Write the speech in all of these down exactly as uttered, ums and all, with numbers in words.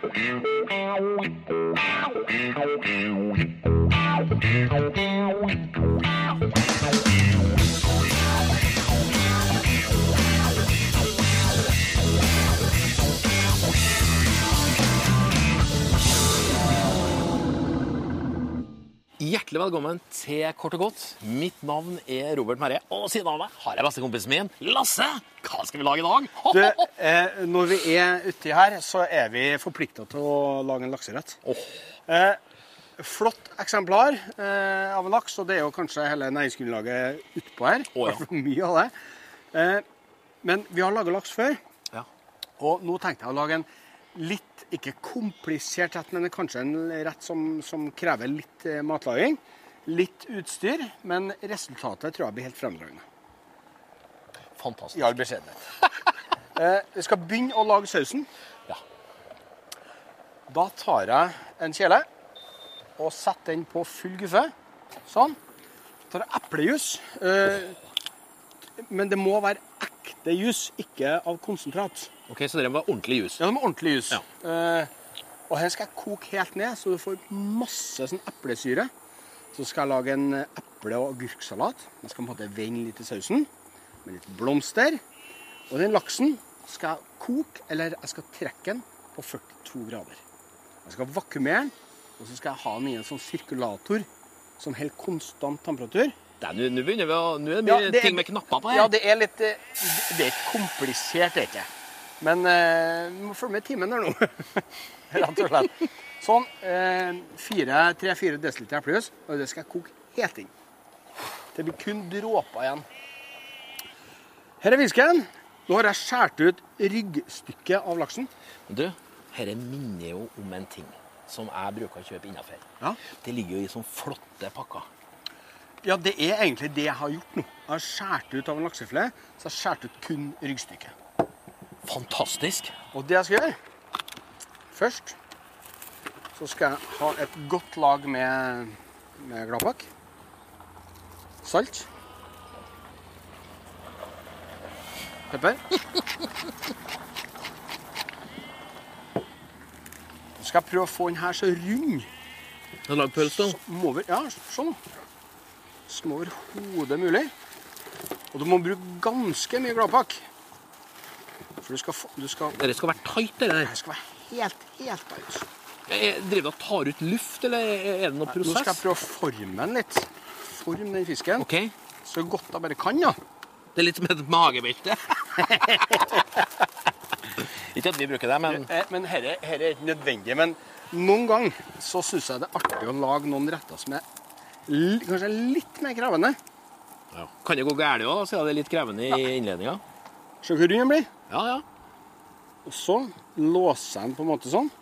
Hjertelig velkommen til Kort og Godt. Mitt navn er Robert Merre, og siden av meg har jeg bestekompisen min, Lasse. Hva skal vi lage i dag? Du, eh, når vi er ute her, så er vi forpliktet til å lage en lakserett. Oh. Eh, flott eksemplar eh, av en laks, og det er jo kanskje hele næringsgrunnlaget utpå her. Oh, ja. Mye av det. Eh, men vi har laget laks før, Ja. og nå tenkte jeg å lage en litt, ikke komplisert rett, men kanskje en rett som, som krever litt eh, matlaging, litt utstyr, men resultatet tror jeg blir helt fremdragende. Fantastisk. I all beskjedenhet. eh, vi skal begynne å lage sausen. Ja. Da tar jeg en kjele og setter den på full guffe. Sånn. Så tar jeg eplejus. Eh, men det må være ekte jus, ikke av konsentrat. Ok, så det var ordentlig jus. Ja, det må ordentlig jus. Ja. Eh, og her skal jeg koke helt ned, så du får masse sånn eplesyre. Så skal jeg lage en eple- og agurksalat. Jeg skal på en måte vende litt i sausen, med litt blomster. Og den laksen skal jeg koke, eller jeg skal trekke den på førtito grader. Jeg skal vakuumere den, og så skal jeg ha den i en sånn sirkulator som helt konstant temperatur. Det er, nå begynner vi å, nå er det mye Ja, det er- ting med knapper på her. Ja, det er litt, eh, det er ikke komplisert, det er ikke. Men eh, vi må følge med timen der nå, rett og slett. Sånn, eh, tre-fire desiliter eplejus, og det skal jeg koke helt inn. Det blir kun dråper igjen. Her er fisken. Nå har jeg skjært ut ryggstykket av laksen. Du, dette minner jo om en ting som jeg bruker å kjøpe innenfor. Ja. Det ligger jo i sånne flotte pakker. Ja, det er egentlig det jeg har gjort nå. Jeg har skjært ut av en laksefilet, så jeg har skjært ut kun ryggstykket. Fantastisk. Og det jeg skal gjøre, først, så skal jeg ha et godt lag med, med gladpakk, salt, pepper. Så skal jeg prøve å få den her så rund. Du har lagd pøls da? Som over, ja, sånn. Som overhodet mulig. Og du må bruke ganske mye gladpakk. For du skal få, du skal, Dette skal være tight, det der. det skal være helt, helt tight. Jeg driver og tar ut luft, eller er det noe prosess? Nå skal jeg prøve å forme den litt. Forme den fisken. Ok. Så godt jeg bare kan, ja. Det er litt som et magebelte. Ikke at vi bruker det, men... Eh, Men her er, her er ikke nødvendig. Men noen gang så synes jeg det er artig å lage noen retter som er li, kanskje litt mer krevende. Ja. Kan det gå gærlig også, da, siden det er litt krevende i innledningen? Se hvor rund den blir. Ja, ja. Og så låser jeg den på en måte sånn.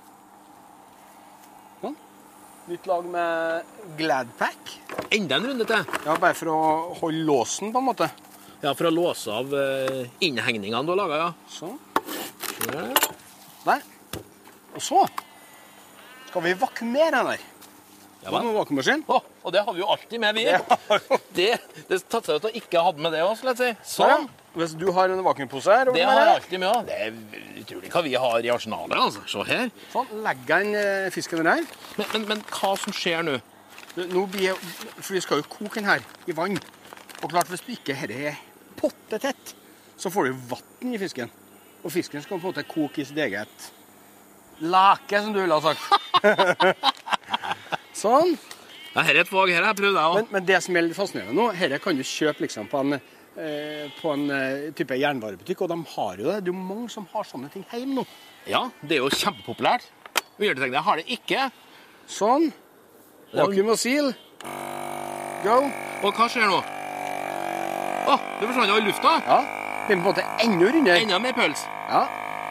Sånn. Nytt lag med Gladpack. Enda en runde til. Ja, bare for å holde låsen på en måte. Ja, for å låse av uh, innhengningene du har laget, ja. Sånn. Ja. Der. Og så skal vi vakuumere den der. Ja, Hva med vakuummaskin? Å, og det har vi jo alltid med, vi. Ja. Det, det tatt seg ut å ikke ha med det også, la oss si. Sånn. Sånn. Hvis du har en vakuumpose her, Det har jeg alltid med også. Det er utrolig hva vi har i arsenalet, altså. Se her. sånn, legger jeg den eh, fisken den her. Men, men, men hva som skjer nå? Det- Nå blir jeg, for vi skal jo koke den her i vann. Og klart, hvis du ikke her er pottetett, så får du vatten i fisken. Og fisken skal på en måte koke i sitt eget lake, som du ville ha sagt. Sånn. Ja, her er et fag, her har jeg prøvd det også. Men, men det som er litt fascinerende nå, her kan du kjøpe liksom på en, eh, på en eh, type jernvarebutikk, og de har jo det. Det er jo mange som har sånne ting hjemme nå. Ja, det er jo kjempepopulært. Vi gjør det, jeg har det ikke. Sånn. Vakuum og sil. Go. Og hva skjer nå? Å, det forsvant jo i lufta. Ja. Det er på en måte enda rundere. Enda mer pøls. Ja.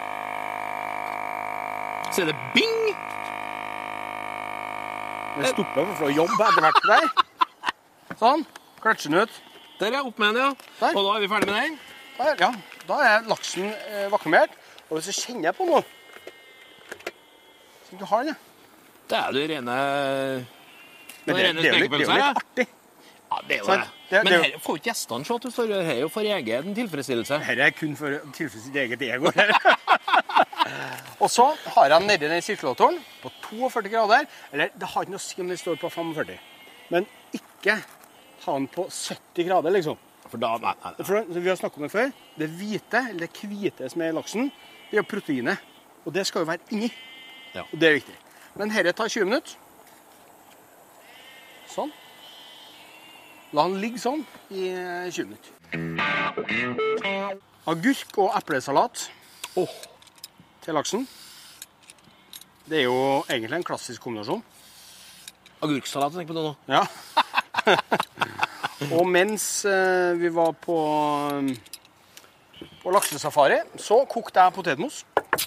Så er det bing! Den stopper for å jobbe etter hvert der. Sånn. Kløtsjen ut. Der er opp med den, ja. Der. Og da er vi ferdig med den. Der, ja. Da er laksen eh, vakuumert. Og hvis du kjenner på noe, så du har den, ja. Det er det rene... Men det, det, er jo litt, det er jo litt artig. Ja, det er jo Sant? det. Det- Men det er jo- her får ikke gjestene se at du står her. Her er jo for egen tilfredsstillelse. Dette er kun for å tilfredsstille sitt eget ego. Og så har jeg nedi den sirkulatoren på førtito grader. Eller det har ikke noe å si om den står på førtifem. Men ikke ha den på sytti grader, liksom. For da, nei, nei, nei. For vi har snakket om det før. Det hvite, eller det hvite som er i laksen, det er proteinet. Og det skal jo være inni. Ja. Og det er viktig. Men dette tar tjue minutter. Sånn. La den ligge sånn i tjue minutter. Agurk og eplesalat oh, til laksen. Det er jo egentlig en klassisk kombinasjon. Agurksalat, tenk på det nå. Ja. Og mens eh, vi var på, på laksesafari, så kokte jeg potetmos.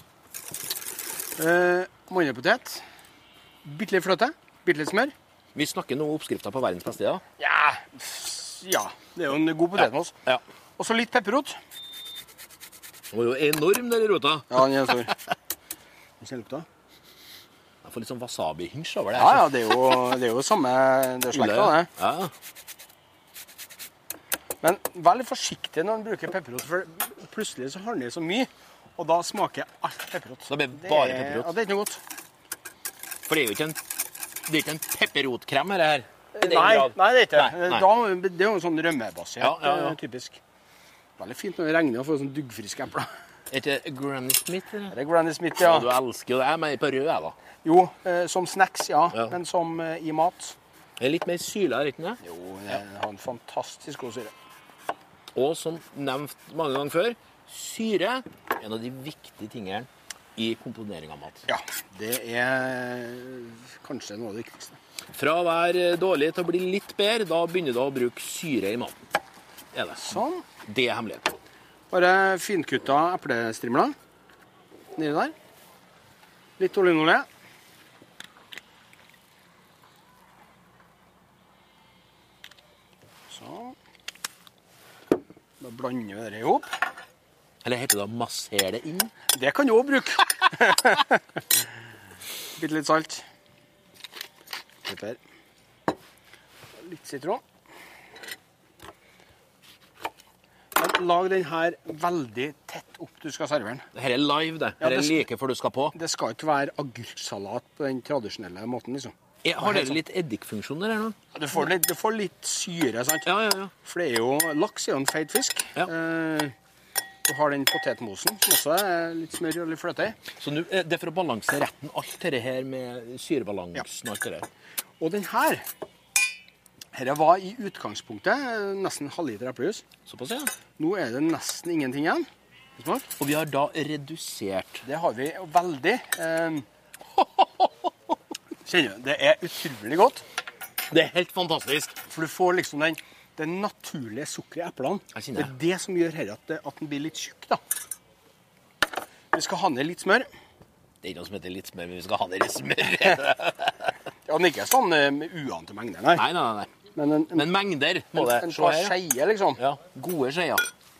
Eh, Mandelpotet. Bitte litt fløte. Bitte litt smør. Vi snakker nå oppskrifter på verdens beste, ja. Ja, ja. Det er jo en god potetmos. Ja. Og så litt pepperrot. Den var jo enorm, den rota. Ja, den er stor. Den ser lukta. Jeg får litt sånn wasabi-hins over det. Ja, ja, det er jo, det er jo samme, det er slekta, det. Ja. Men vær litt forsiktig når du bruker pepperrot, for plutselig så har den i så mye, og da smaker alt pepperot. Da blir det bare pepperot. Ja, det er ikke noe godt. For det er jo ikke en, det er ikke en pepperotkrem her, her. I den Nei, grad. nei, det er ikke. Nei, nei. Da, det er jo sånn rømmebasert, Ja, ja, ja. typisk. Veldig fint når det regner og får sånn duggfriske epler. Er det Granny Smith? Eller? Det er Granny Smith, ja. Ja, du elsker jo det. Jeg er mer på rød, jeg da. Jo, eh, som snacks, ja, Ja. men som eh, i mat. Det er litt mer syla, er det ikke det? Jo, det har en fantastisk god syre. Og som nevnt mange ganger før, syre er en av de viktige tingene i komponering av mat. Ja, det er kanskje noe av det viktigste. Fra å være dårlig til å bli litt bedre, da begynner du å bruke syre i maten. Er det. Sånn. Det er hemmeligheten. Bare finkutta eplestrimler nedi der. Litt olivenolje. Sånn. Da blander vi det ihop. Eller heter det å massere det inn? Det kan du også bruke. Bitte litt salt. Pepper. Litt sitron. Men lag den her veldig tett opp du skal servere den. Dette er live, det. Ja, Dette det er skal- like før du skal på. Det skal ikke være agurksalat på den tradisjonelle måten, liksom. Jeg har dere litt eddikfunksjoner her nå? Du får litt, du får litt syre, sant? Ja, ja, ja. For det er jo, laks er jo en feit fisk. Ja. Eh, du har den potetmosen, som også er litt smør og litt fløte i. Så nå, eh, det er for å balansere retten alt dette her med syrebalansen og alt det der. Og den her, her var i utgangspunktet eh, nesten halvliter eplejus. Såpass, ja. Nå er det nesten ingenting igjen. Smak. Og vi har da redusert. Det har vi jo veldig. Eh, kjenner du, det er utrolig godt. Det er helt fantastisk. For du får liksom den, det naturlige sukkeret i eplene. Jeg Det kjenner er det som gjør her at, det, at den blir litt tjukk, da. Vi skal ha ned litt smør. Det er ikke noe som heter litt smør, men vi skal ha det litt smør. Ja, den er ikke sånn eh, med uante mengder, nei. Nei, nei, nei. Men en, en, Men mengder må en, det. en Se par her. skeier, liksom. Ja, gode skeier.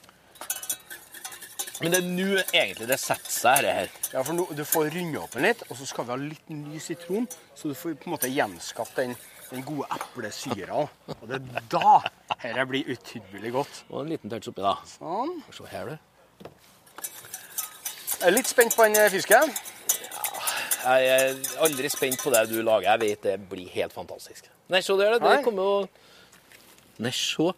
Men det er nå egentlig det setter seg her. her. Ja, for nå, du får runde opp den litt, og så skal vi ha litt ny sitron, så du får på en måte gjenskapt den, den gode eplesyra. Og det er da dette blir utrolig godt. Og en liten touch oppi, da. Sånn. Se her, du. Jeg er litt spent på den fisken. Jeg er aldri spent på det du lager. Jeg vet det blir helt fantastisk. Nei, se der, det. Nei. Det kommer jo... Nei, se.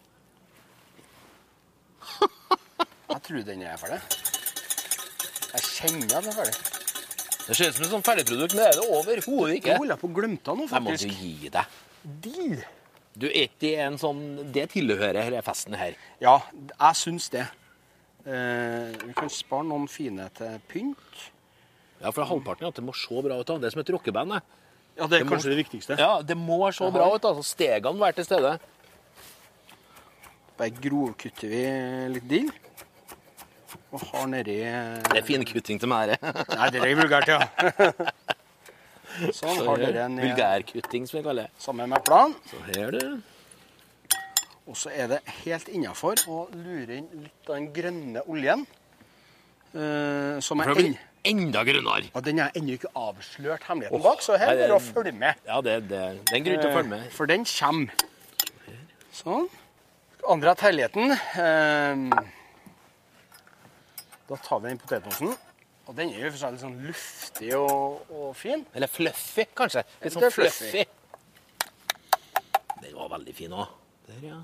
Jeg tror den er ferdig. Jeg kjenner at den er ferdig. Det ser ut som et sånt ferdigprodukt, men det er det overhodet Jeg ikke. holder på å glemme det nå, Jeg må faktisk. jo gi deg. Dill. Du, er ikke en sånn... Det tilhører denne festen her. Ja, jeg syns det. Eh, vi kan spare noen fine til pynt. Ja, for halvparten er at det må se bra ut. Da. Det er som et rockeband. det. Ja, det er Det må- kanskje det viktigste. Ja, det må se bra ut. Altså. Stegene må være til stede. Bare grovkutter vi litt dill. Og har nedi Det er finkutting til meg, det. Nei, det er vulgært, ja. Sånn, har dere en Vulgærkutting, som vi kaller det. sammen med eplene. Så her, du. Og så er det helt innenfor å lure inn litt av den grønne oljen. eh, som For er det en, blir enda grønnere. ja, den er ennå ikke avslørt hemmeligheten Åh, bak, så her nei, er det det- å følge med. Ja, det, det, det er en grunn til å følge med. Eh, For den kommer. Sånn. Andre at herligheten. Eh, da tar vi den potetmosen Og den er jo for seg litt sånn luftig og, og fin. Eller fluffy, kanskje. Litt Det sånn er fluffy. fluffy. Den var veldig fin også. Der, ja.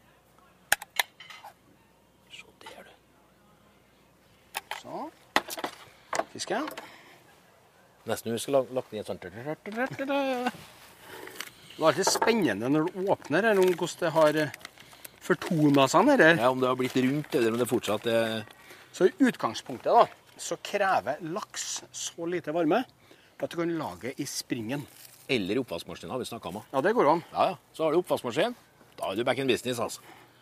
Se der, du. Så. Fisken. Nesten vi skulle lagt den i et sånt. Det er alltid spennende når du åpner her, om hvordan det har fortonet seg her. Ja, om det har blitt rundt, eller om det fortsatt er... Så i utgangspunktet da, så krever laks så lite varme at du kan lage i springen. Eller oppvaskmaskin, har vi snakket om. Ja, det går an. Ja, ja. Så har du oppvaskmaskin. Da er du back in business, altså.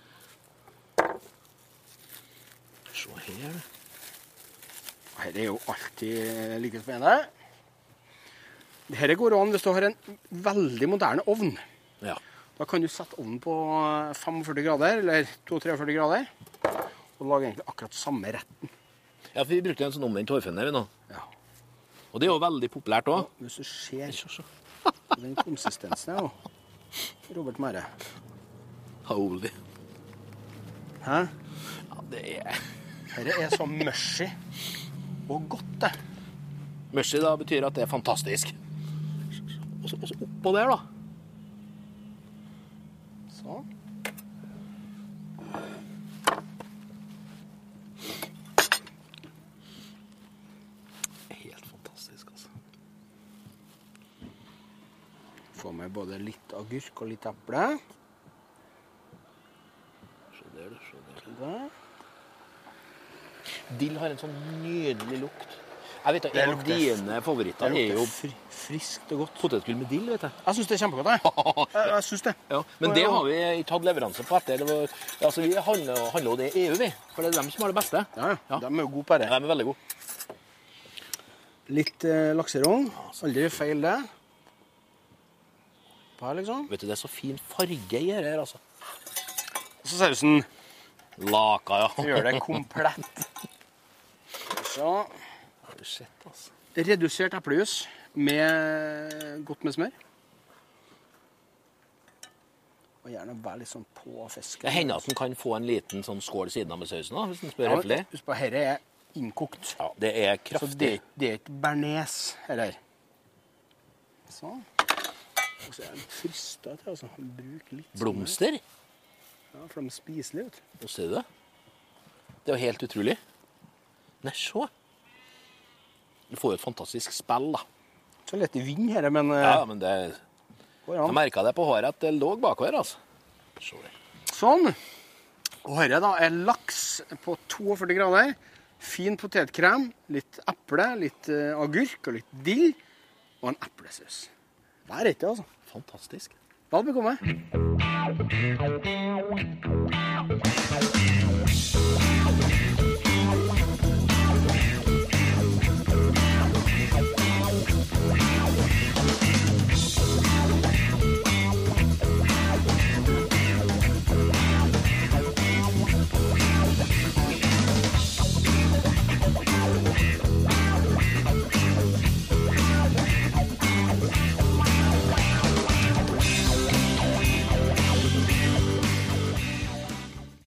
Se her. Her er jo alltid like spennende. Dette går an hvis du har en veldig moderne ovn. Ja. Da kan du sette ovnen på femogførti grader, eller førti-tre grader, og lage egentlig akkurat samme retten. Ja, for vi brukte en sånn omvendt hårfønner vi nå. Ja. Og det er jo veldig populært også. Hvis du ser Se, se. den konsistensen her, da. Robert Mære. Holy. Hæ? Ja, det er... Dette er så mushy og godt, det. Mushy da betyr at det er fantastisk. Og så, og så oppå der da. Sånn. Helt fantastisk, altså. Få med både litt agurk og litt eple. Se der, du. Se der. Der. Dill har en sånn nydelig lukt. Jeg vet at Det en av lukter- dine favoritter Det er jo lukter fri, friskt og godt. potetgull med dill, vet jeg. Jeg synes det er kjempegodt, jeg. Jeg, jeg synes det. Ja, men det har vi ikke hatt leveranse på etter. Det var, altså, vi handler, handler jo det i E U, vi. For det er dem som har det beste. Ja, ja. Ja. De er jo gode på det. De er veldig gode. Litt eh, lakserogn. Aldri feil det. På her, liksom. Vet du, det er så fin farge i her, altså. Og så sausen Laka, ja. gjør det komplett. Så Har du sett, altså. redusert eplejus med godt med smør. Og gjerne være litt sånn på fisken. Det hender at den kan få en liten sånn skål siden av med sausen, da, hvis den spør Ja, høflig. men husk på, dette er innkokt. Ja, det er Så kraftig. det, det er ikke bearnés her. her. Sånn. Og så er den frista til, altså. Bruk litt smør. Blomster. Ja, for de er spiselige, vet du. Nå ser du det. Det er jo helt utrolig. Nei, se. Du får jo et fantastisk spill, da. Så lett i vind her, men eh, Ja, men det... går Jeg an. merket det på håret at det lå bakover, altså. Se det. Sånn. Og dette da er laks på førti-to grader. Fin potetkrem, litt eple, litt eh, agurk og litt dill. Og en eplesaus. Vær rett, altså. Fantastisk. Vel bekomme.